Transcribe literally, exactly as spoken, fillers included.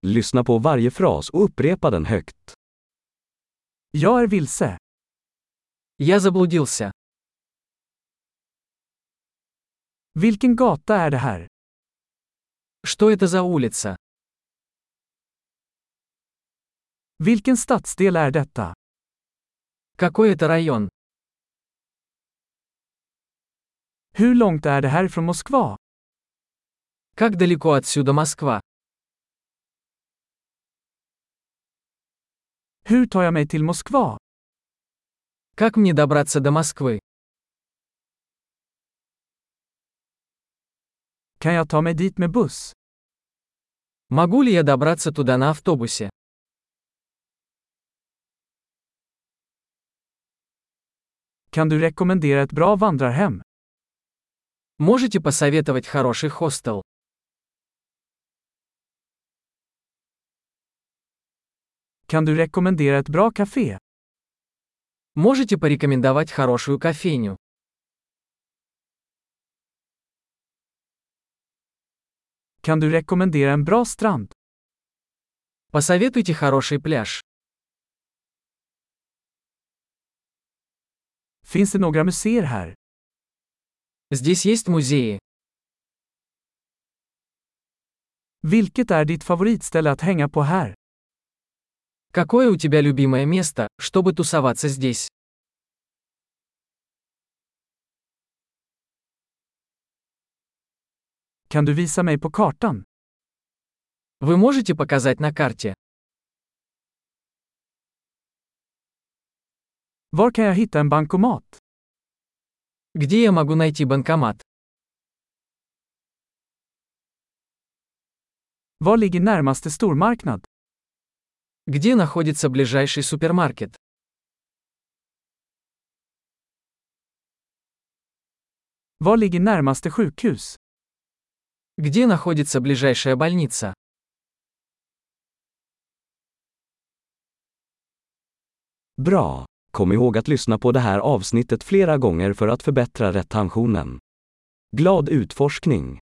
Lyssna på varje fras och upprepa den högt. Jag är vilse. Я заблудился. Vilken gata är det här? Что это за улица? Vilken stadsdel är detta? Какой это район? Hur långt är det här från Moskva? Как далеко отсюда Москва? Hur tar jag mig till Moskva? Как мне добраться до Москвы? Kan jag ta mig dit med buss? Могу ли я добраться туда на автобусе? Kan du rekommendera ett bra vandrarhem? Можете посоветовать хороший хостел? Kan du rekommendera ett bra café? Можете порекомендовать хорошую кофейню? Kan du rekommendera en bra strand? Посоветуйте хороший пляж. Finns det några museer här? Здесь есть музеи. Vilket är ditt favoritställe att hänga på här? Какое у тебя любимое место, чтобы тусоваться здесь? Kan du visa mig på kartan? Вы можете показать на карте? Var kan jag hitta en bankomat? Где я могу найти банкомат? Var ligger närmaste stormarknad? Где находится ближайший супермаркет? Var ligger närmaste sjukhus? Где находится ближайшая больница? Bra! Kom ihåg att lyssna på det här avsnittet flera gånger för att förbättra retentionen. Glad utforskning!